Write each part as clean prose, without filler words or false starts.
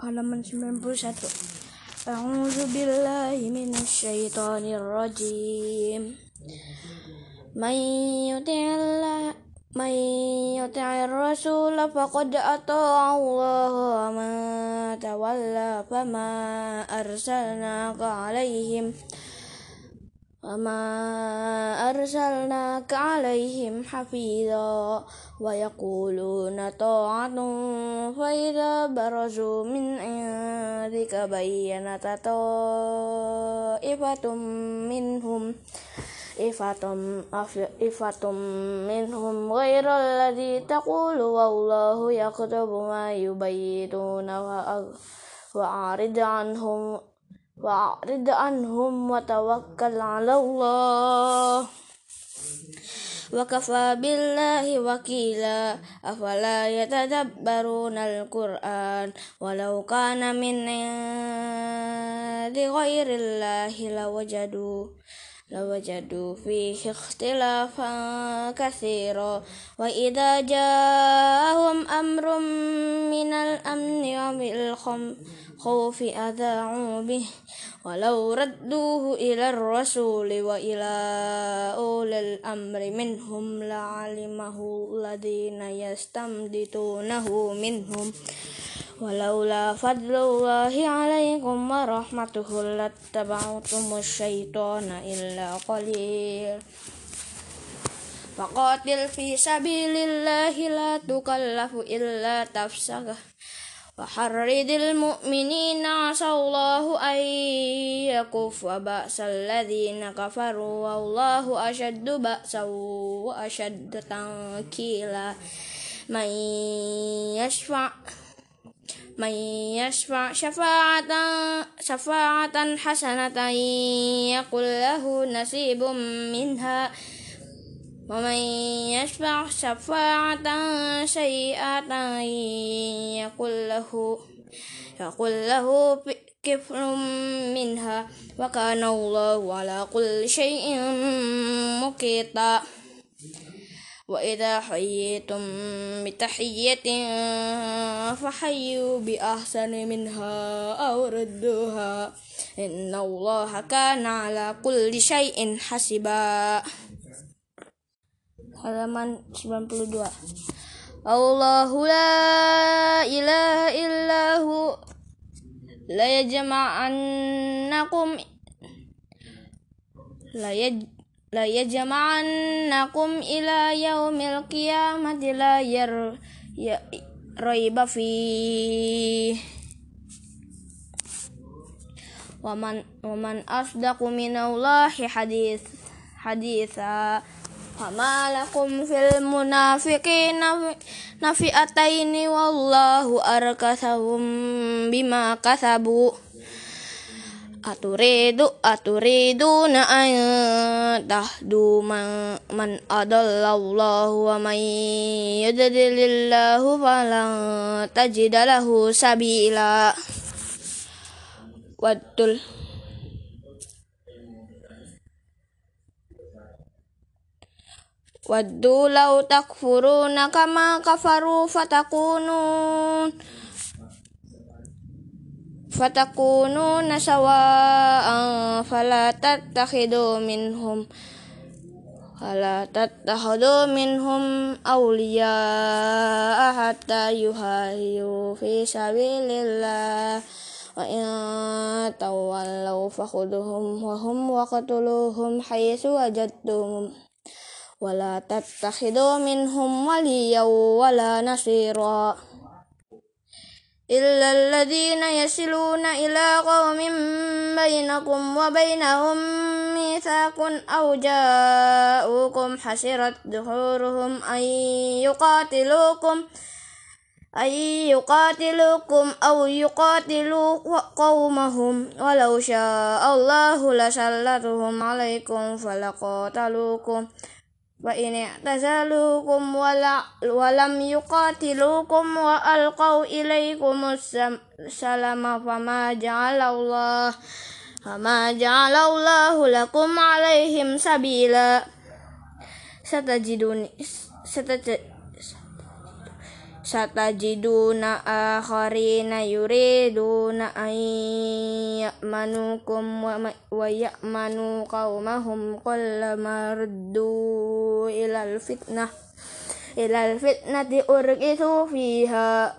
halaman 91. A'udzu billahi minasyaitonir rajim. May yuti'ir rasul faqad ata'a Allah wa man tawalla fama arsalnaka alaihim hafidha wa yaquluna ta'atun fa idza barazu min indika bayyanata ta'ifatum minhum ghairal ladzi taqulu wallahu yaktubu ma yubayyituna wa'rid anhum wa tawakkal 'ala Allah wa kafa billahi wakila afala yatadabbaruna al-Qur'an walau kana min 'indi ghairillahi lawajadu fihi ikhtilafan katsira wa idza ja'ahum amrun minal amni wa bil khawfi adha'u bih walau radduhu ila ar-rasuli wa ila ulil amri minhum la'alimahu alladhina yastamditunahu minhum walaula fadlullahi 'alaikum wa rahmatuhu lattaba'tumus syaitana illa qalil faqatil fi sabilillahi la tukallafu illa nafsaka wa harridil mu'minina 'asallahu ay yakuffa ba'sal ladzina kafaru wallahu ashaddu ba'san wa ashaddu tankila man yashfa' syafa'atan hasanatan yakul lahu nasibum minha wa man yashfa' syafa'atan sayyi'atan yakul lahu kiflun minha wa kana Allahu ala kulli syai'in muqita wa idza hayyitum bitahiyyatin fahayyu bi ahsani minha aw rudduha innallaha kana ala kulli syai'in hasiba. Halaman 92. Allahu la ilaha illahu la yajma'annakum ila yaumil qiyamati la raiba fi wa man asdaqu minallahi haditha fama lakum fil munafiqina nafi'ataini wallahu arkasahum bima kasabu Aturiduna an tahdu man adallallahu wa man yudlilillahu falan tajida lahu sabila. Waddu law takfuruna kama kafaru fatakununa sawa'an fala tattakhidu minhum awliya'a hatta yuhajiru fi sabilillah wa in tawallaw fakhuduhum wa hum waqtuluhum haythu wajadtum wala tattakhidu minhum waliyyan wala nasira illa alladhina yasiluna ila qaumin bainakum wa bainahum mitsaqun aw ja'ukum hasirat dhuhuruhum ay yuqatilukum aw yuqatilu qaumahum walau sya'allahu lasallatuhum alaikum falaqatalukum wa in i'tazalukum wa lam yuqatilukum wa alqaw ilaikumus salama fama ja'alallahu lakum alaihim sabila satajiduna akharina yuriduna an ya'manukum wa ya'manu qaumahum kullama ruddu ilal fitnati urqisu fiha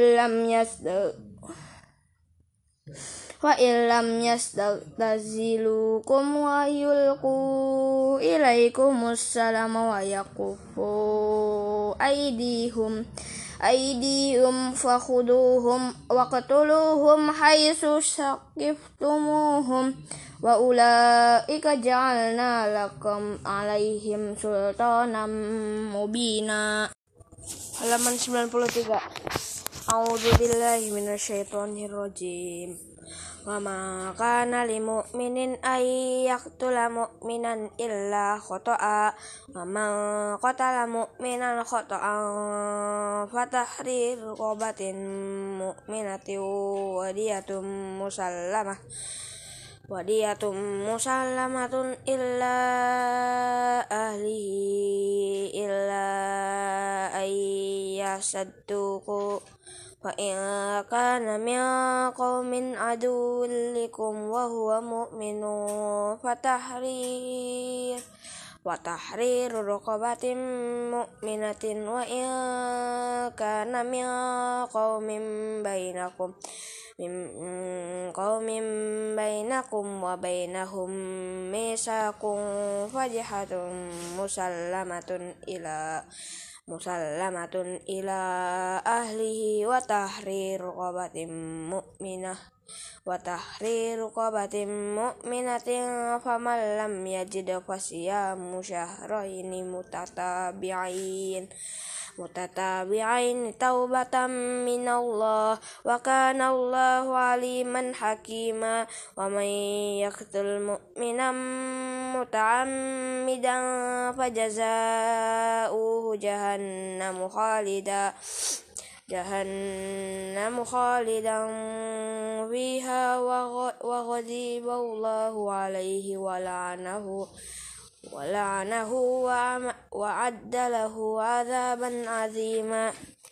fa illam yastazilukum wa yulqu ilaikumus salama wa yakufu aydihum fakhuduhum waqtuluhum haitsu saqiftumuhum wa ulaika ja'alna lakum alaihim sultanan mubina. Halaman 93. A'udzubillahi minasyaitonirrajim. Wa ma kana lil mu'minin ay yaqtula mu'minan illa khata'a wa man qatala mu'minan khata'an fatahriru raqabatin mu'minatin wadiyatun musallamatun illa ahlihi illa ayyasadduqu fa in kana min qaumin aduwwin lakum wa huwa mu'minun fatahriru raqabatin mu'minatin wa in kana min qaumin bainakum wa bainahum misaqun fajhatun musallamatun ila ahlihi wa tahriru raqabatin mu'minatin faman lam yajid fasiyamu syahraini mutatabi'ain taubatan minallah wa kana Allahu aliman hakima. Wa man yaqtul mu'minan muta'ammidan fajaza'uhu jahannamu khalidan fiha wa ghadiba Allahu alaihi wa la'anahu wa adda lahu adzaban azima.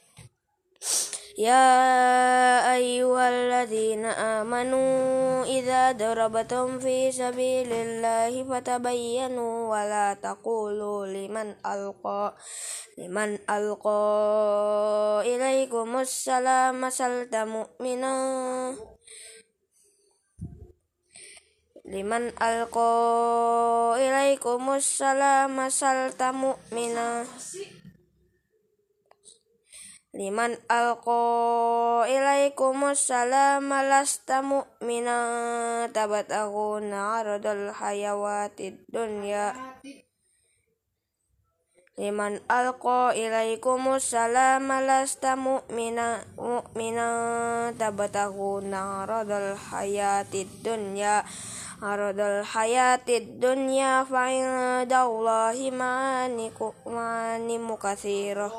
Ya ayyuhalladzina amanu idza darabtum fi sabilillahi fatabayyanu wa la taqulu liman alqa ilaikumus salama salta mu'minan liman alqa ilaikumus salama salta mu'mina liman alqa ilaikumus salama lasta mu'mina tabataguna aradal hayawatid dunya liman alqa ilaikumus salama lasta mu'mina tabataguna aradal hayatid dunya fa indallahi manimu katsirah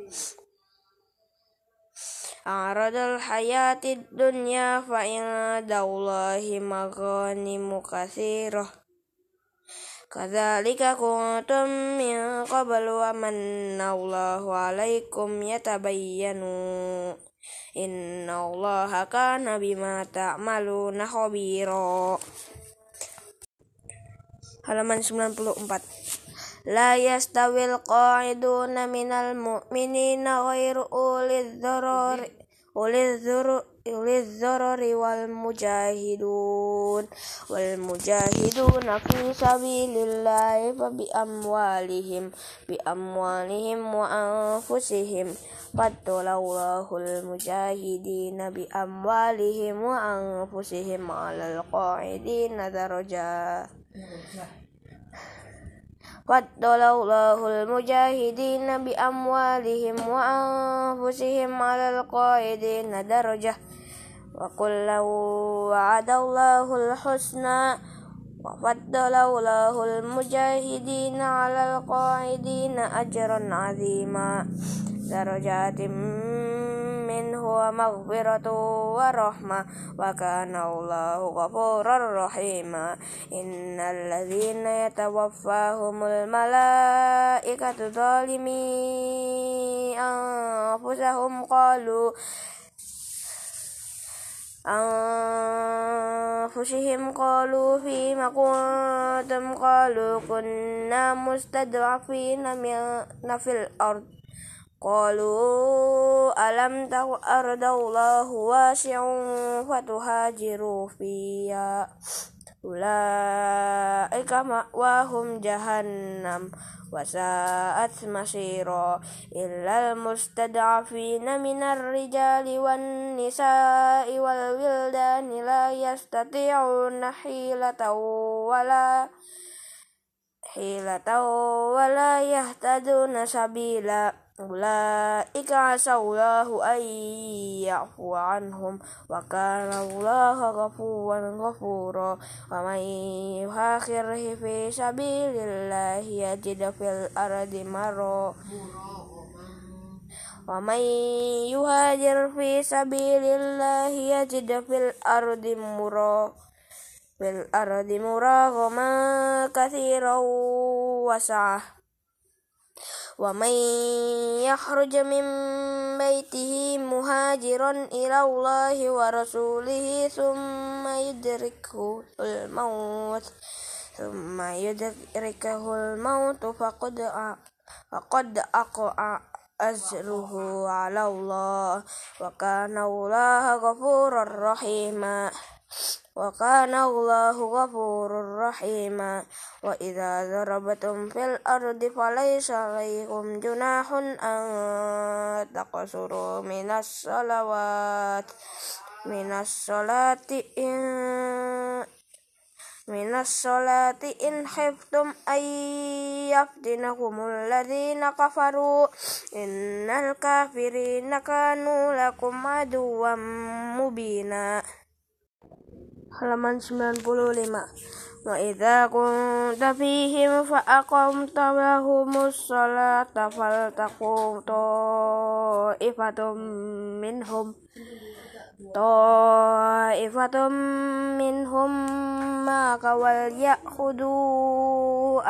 aradal hayatid dunya fa indallahi maghanimu katsirah kadzalika kuntum min qablu wa manallahu alaikum yatabayyanu innallaha kana bima ta'maluna khabira. Halaman 94. La yastawil qa'iduna minal mu'minina ghairu ulidh dzarari wal mujahiduna fi sabilillahi fa bi amwalihim wa anfusihim faddalallahul mujahidina bi amwalihim wa anfusihim 'alal qa'idina darajat faddalallahul mujahidina bi amwalihim wa anfusihim 'alal qa'idina darajah wa kullu wa'adallahul husna wa faddalallahul mujahidina 'alal qa'idina ajran 'azima darajatin منه ومغفرة ورحمة وكان الله غفورا رحيما إن الذين يتوفاهم الملائكة ظالمي أنفسهم قالوا فيما كنتم قالوا كنا مستضعفين في الأرض قالوا ألم تكن أرض الله واسعة فتهاجروا فيها أولئك مأواهم جهنم وساءت مصيرا إلا المستضعفين من الرجال والنساء والولدان لا يستطيعون حيلة ولا يهتدون سبيلا أولئك عسى الله أن يعفو عنهم وكان الله غفورا ومن يهاجر في سبيل الله يجد في الأرض ومن يهاجر في سبيل الله يجد في الأرض مراغما كثيرا وسعة ومن يخرج من بيته مهاجرا إلى الله ورسوله ثم يدركه الموت فقد أقع أجره على الله وكان الله غفورا رحيما وإذا ضربتم في الأرض فليس عليكم جناح أن تقصروا من الصلاة إن خفتم أن يفتنكم الذين كفروا إن الكافرين كانوا لكم عدوا مبينا. Halaman 95. Wa idza kunta fihim fa aqamta lahumus sholata faltaqum ta'ifatum minhum ma'aka wal ya'khudu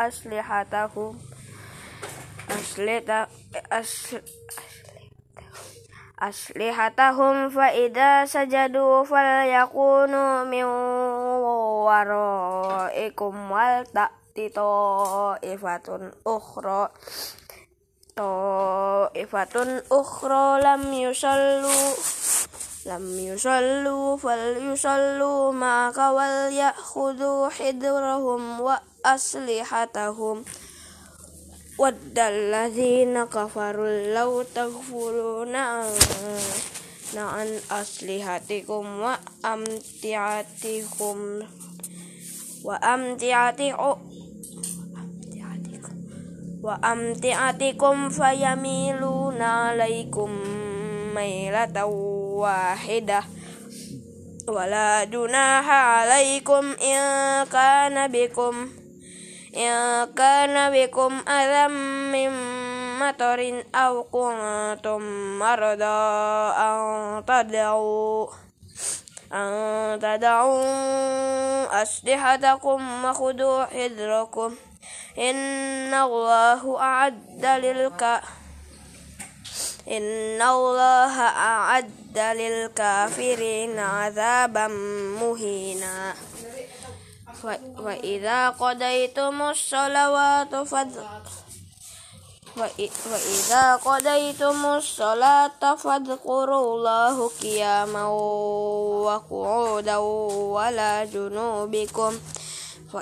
aslihatahum fa idza sajadu falyakunu min waraikum wal ta'ti ta'ifatun ukhra lam yusallu falyusallu ma'aka wal ya'khudu hidrahum wa aslihatahum waddal ladzina kafaru law taghfuruna an aslihatikum wa amtiatikum fayamiluna alaikum mailatan wahidah wala junaha alaikum in kana bikum adam min matarin aw kuntum marada an tad'u aslihatakum wa khudu hidrakum inna allaha a'adda lil kafirina 'adzaban muhina. Wa idza qadaytumus sholata fadhkurullaha qiyaman wa qu'udan wa la junubikum fa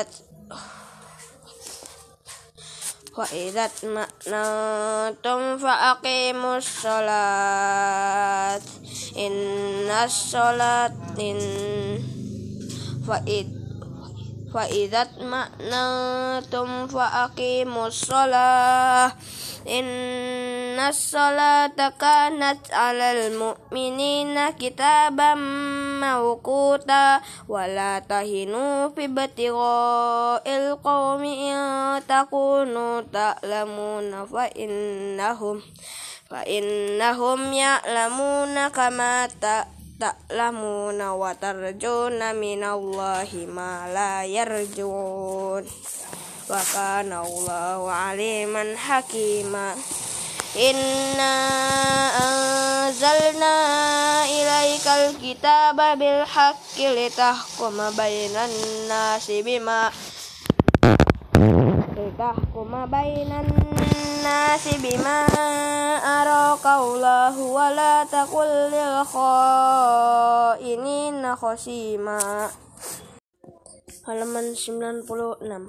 idat ma'natum fa aqimus sholat fa idat ma'natum fa aqimus sholah innas sholata kanat 'alal mu'minina kitaban mawquta wa la tahinu fi ibtigha'il qaumi in takunu ta'lamuna fa فإنهم يعلمون كما تعلمون وترجون من الله ما لا يرجون وكان الله عليما حكيما إنا أنزلنا إليك الكتاب بالحق لتحكم بين الناس بما أراك الله ولا تكن للخائنين خصيما. Halaman 96.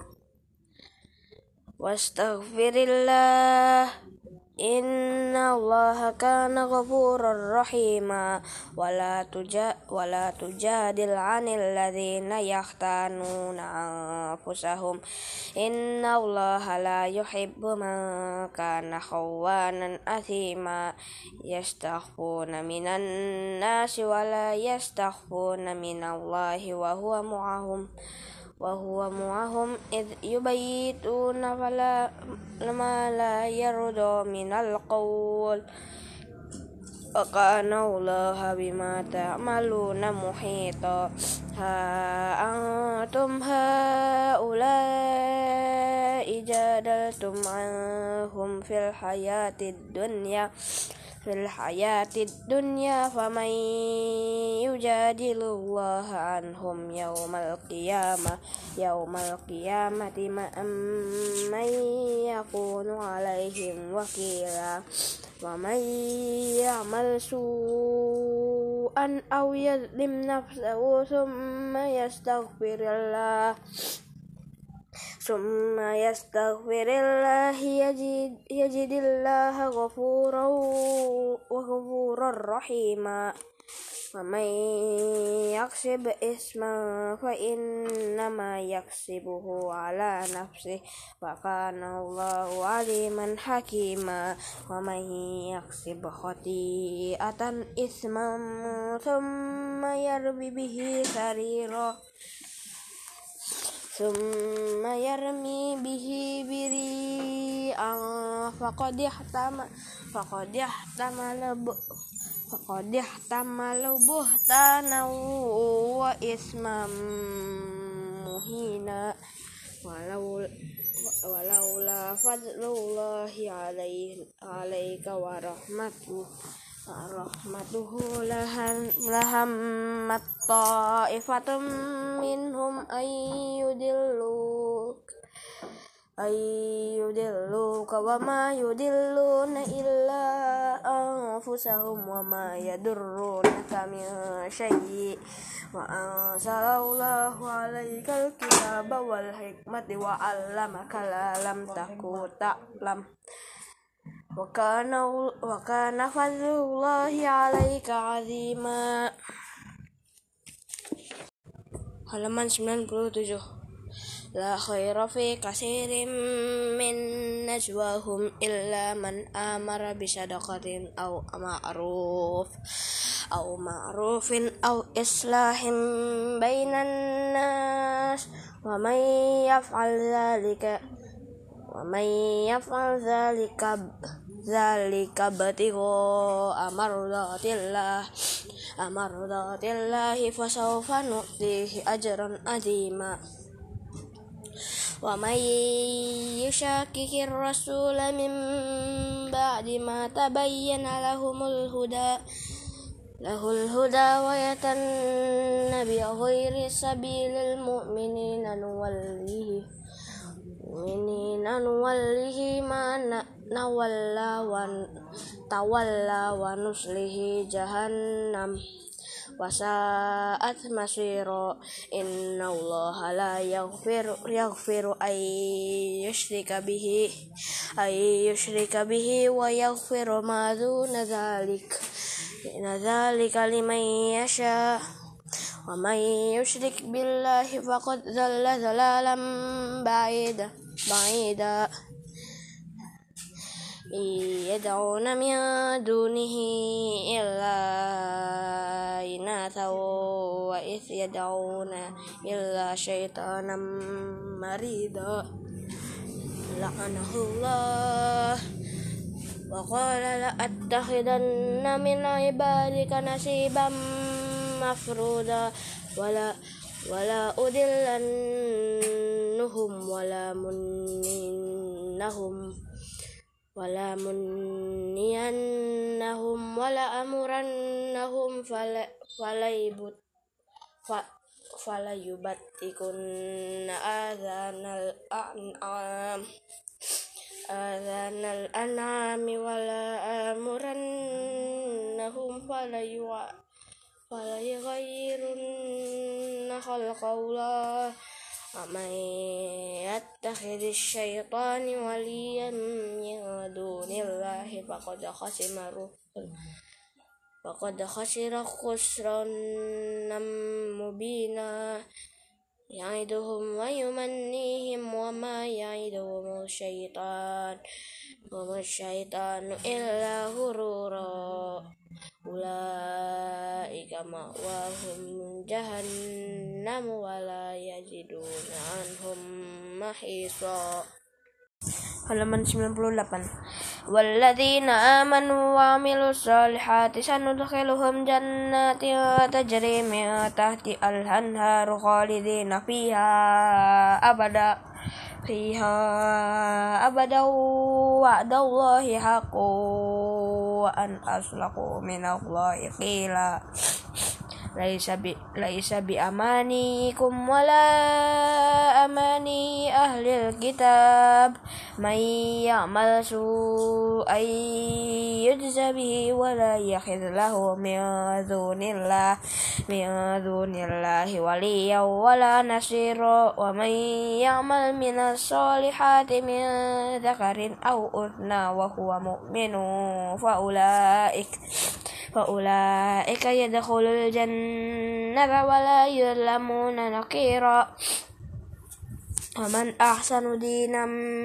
Wastaghfirillah inna allaha kana ghafurar rahima wala tujadil 'anil ladzina yahtanuna anfusahum inna allaha la yuhibbu man kana khawanan athima yastaghfuna minan nasi wala yastaghfuna minallahi wa huwa mu'ahum idh yubayyituna ma la yarda minal qawl wa kana allaha bima ta'maluna muhita ha antum haula'i jadaltum anhum fil hayatid dunya faman yujadilullaha anhum yawmal qiyamati man yakunu alaihim wakila wa man ya'mal su'an aw yadlim nafsahu thumma yastaghfirillah yajidillaha ghafurar rahima wa man yaksib isman fa innama yaksibuhu ala nafsihi wa kana Allahu aliman hakima wa man yaksib khati'atan isman thumma yarmi bihi biri'an faqad ihtamala buhtanan wa isman muhina walaula fadlullahi alaika wa rahmatuhu lahammat ta'ifatum minhum ayyudilluka wa ma yudilluna illa anfusahum wa ma yadurrunaka min syai'in wa anzalallahu alaikal kitaba wal hikmata wa 'allamaka ma lam takun ta'lam wa kana fadlullahi alaika 'azima. Halaman 97. La khaira fi katsirin min najwahum illa man amara bi sadaqatin aw ma'rufin aw islahin bainan nas wa man yaf'al zalika batigho amardatillahi fasawfa nu'tihi ajran azima wa may yushakkikir rasula min ba'di ma tabayyana lahul huda wa yatannabi ghairi sabilil mu'minina nuwallihi ma nawalla wa nuslihi jahannam wa sa'at masira innallaha la yaghfiru ay yushrika bihi wa yaghfiru ma duna dzalika liman yasha wa man yushrik billahi faqad dhalla dhalalan ba'ida yad'una min dunihi illa inatha wa yad'una illa syaitanan marida la'anahullah وقال لأتخذن من عبادك نصيبا مفروضا ولا أضلنهم ولا منينهم ولا أمرنهم فليبتكن آذان الأنعام ولا آمرنهم فليغيرن خلق الله ومن يتخذ الشيطان وليا من دون الله فقد خسر خسرانا مبينا يعدهم ويمنيهم وما يعدهم الشيطان إلا غرورا أولئك مأواهم جهنم ولا يجدون عنهم محيصا. Halaman 98. Walladzina amanu wa amilus solihati sanudkhiluhum jannatin tajri min tahtiha al-anharu khalidina fiha abada wa'dallahi haqqun wa an aslaqu minallahi qila laisa bi amanikum wala amani ahlil kitab may ya'mal su'an yujza bihi wala yakhidh lahu min dunillahi waliyyan wala nasira wa may ya'mal minas solihati min dzakarin aw untha wa huwa mu'minun فأولئك يدخلون الجنة ولا يظلمون نقيرا ومن أحسن دينا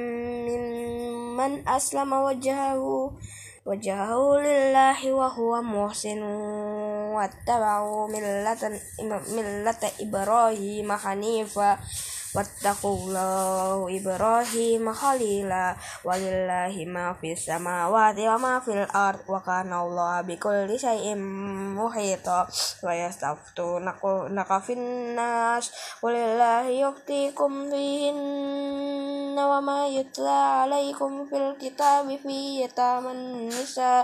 ممن أسلم وجهه لله وهو محسن واتبعوا ملة إبراهيم حنيفا واتقوا الله إبراهيم خليلا ولله ما في السماوات وما في الأرض وكان الله بكل شيء محيطا ويستفتونك في الناس قل الله يفتيكم فيهن وما يتلى عليكم في الكتاب في يتامى النساء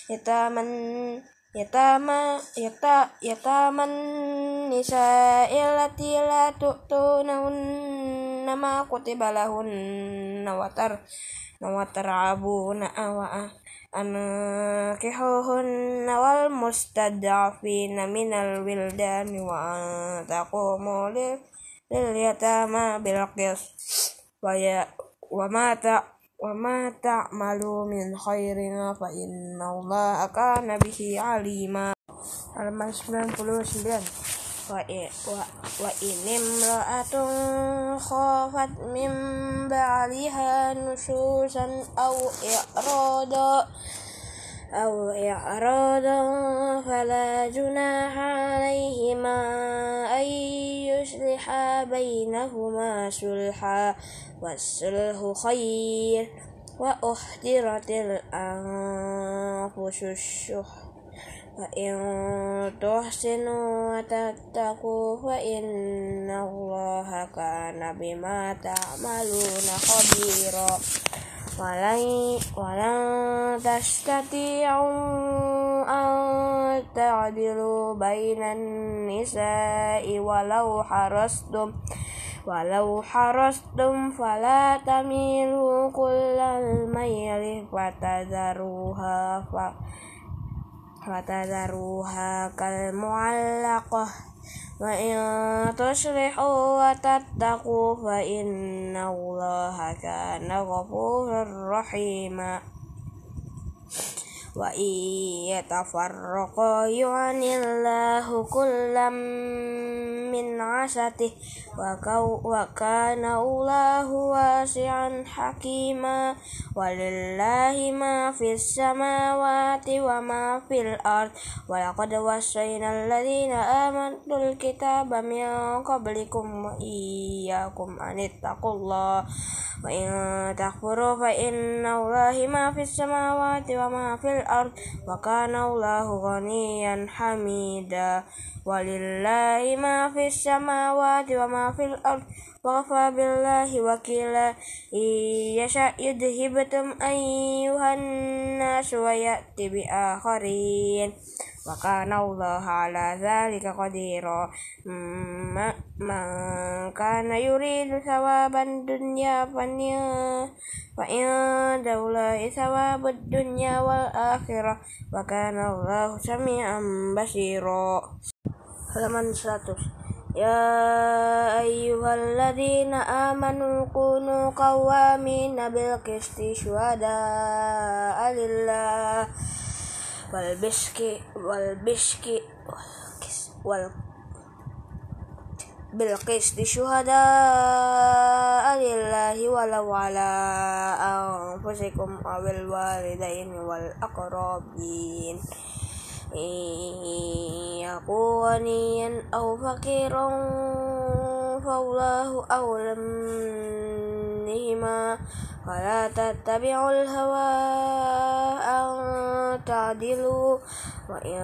التي لا تؤتونهن ما كتب لهن وترعبون أنكحوهن والمستضعفين من الولدان وأن تقوموا لليتامى بالقسط وما تعملوا من خير فإن الله كان به عليما. Halaman 99. Wa inimra'atun khafat min ba'liha nusyuzan aw i'radan fala junaha alaihima ay yusliha bainahuma sulha was-sulhu khair wa uhdiratil anfusus syuh fa in tuhsinu wa tattaqu fa innallaha kana bima ta'maluna khabira walan tastati'u an ta'dilu bainan nisa'i walau harastum fala tamilu kullal mayli fatadharuha kal mu'allaqah wa in tuslihu wa tattaqu fa innallaha kana ghafurur rahima wa iyatafarraqa yu'anillahu kullam min 'asatih wa kana Allahu wasi'an hakima walillahi ma fis samawati wa ma fil ard wa laqad wassayna alladhina amanul kitaba min qablikum wa iyyakum an ittaqullah wa in takfuru fa inna Allahi ma fis samawati wa ma fil ard wa kana Allahu ghaniyan hamida walillahi ma fis samawati wa ma fil ard wa kafa billahi wakila yasha yudhibtum ayyuhan nas wa ya'ti bi akharin wa kana Allah ala dzalika qadira man kana yuridu thawaban dunya fa indallahi thawabud dunya wal akhirah wa kana Allah sami'an basira. Halaman 100. Ya ayyuhalladzina amanu kunu qawwamina bil qisti syuhada'a lillah wal bil qisti syuhada'a lillahi walau ala anfusikum awil walidaini wal aqrabin yaku ghaniyan aw faqiran fallahu awlam nihima wala tattabi'ul hawa an ta'dilu wa in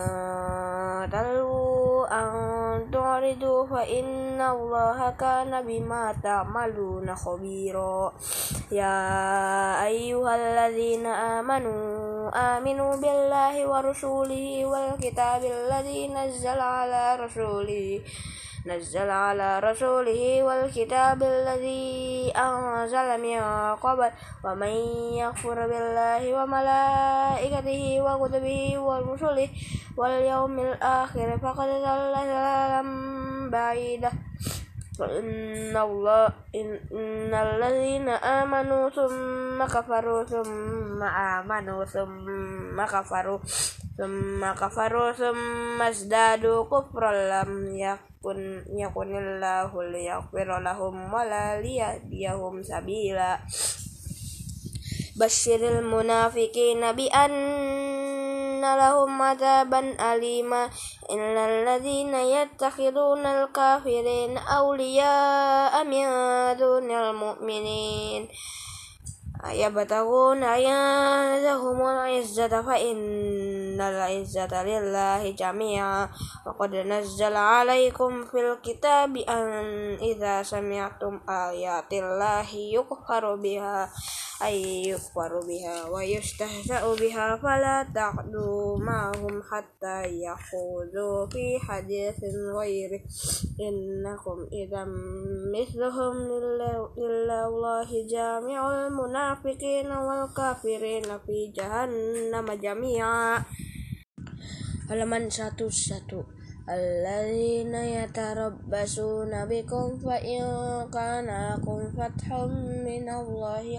talu an tu'ridu fa inna Allaha kana bima ta'maluna khabira. Ya ayyuhalladzina aminu billahi wa rasulihi wal kitabil ladzi nazzala ala rasulihi wal kitabil ladzi anzala min qabl wa man yakfur billahi wa malaikatihi wa kutubihi wa rusulihi wal yawmil akhir faqad dhalla dhalalan ba'idah. Innal ladzina amanu thumma kafaru thumma amanu thumma kafaru thumma izdadu kufran lam yakunillahu liyaghfira lahum wa la liyahdiyahum sabila. Basyiril munafiqina bi anna lahum adzaban alima innal ladzina yattakhiduna al-kafirina awliya'a min dunil mu'minin ayabtaghuna indahumul izzata fa innal izzata lillahi jami'a wa qad nazzala 'alaikum fil kitabi an idza sami'tum ayatillahi yukfaru biha wa yustahza'u biha fala taqdu ma'hum hatta yakhudhu fi haditsin ghairi innakum idzam mithluhum lillahi jami'ul munafiqina wal kafirina fi jahannam jami'a. Halaman 101. Alladzina yatarabbasuna bikum fa in kana lakum fathun minallahi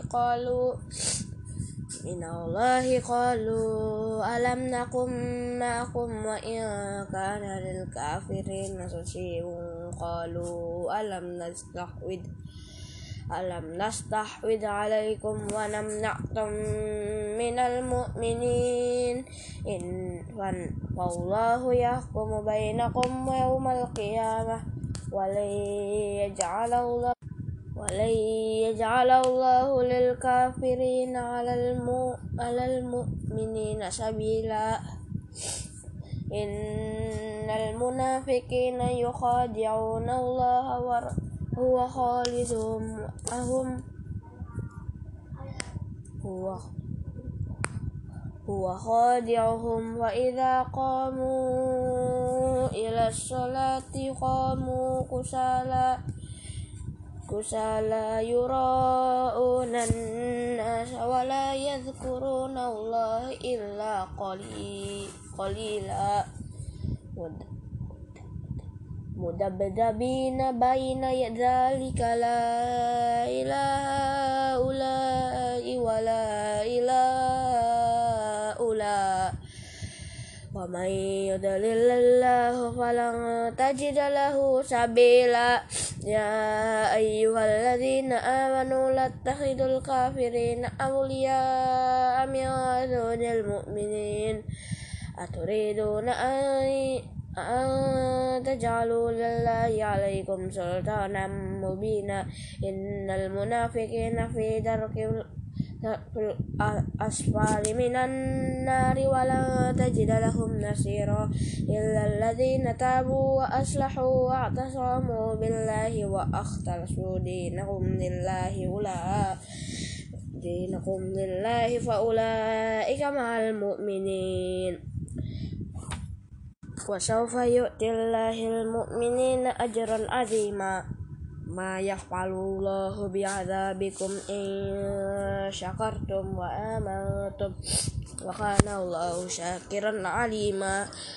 qalu alam nakum ma'akum wa in kana lil kafirina nasibun qalu alam nastahwid alaikum wa namna'tum minal mu'minin wallahu yahkumu bainakum yawmal qiyamah wa lan yaj'alallahu lil kafirina 'alal mu'minina sabila. Innal munafiqina yukhadi'una Allaha wa huwa khadi'uhum wa idza qamu ila sholati qamu kusala yura'una an-nasa wa la yadhkuruna Allah illa qalila mudabdabina baina dzalika la ilaha illa wa la ilaha illa ومن يضلل الله فلن تجد له سبيلا يا أيها الذين آمنوا لا تتخذوا الكافرين أولياء من دون المؤمنين أتريدون أن تجعلوا لله عليكم سلطانا مبينا إن المنافقين في درك الأسفل من النار ولن تجد لهم نصيرا إلا الذين تابوا وأصلحوا واعتصموا بالله وأخلصوا دينكم لله فأولئك مع المؤمنين وسوف يؤتي الله المؤمنين أجرا عظيما ما يفعل الله بعذابكم إن شكرتم وآمنتم وكان الله شاكرا عليما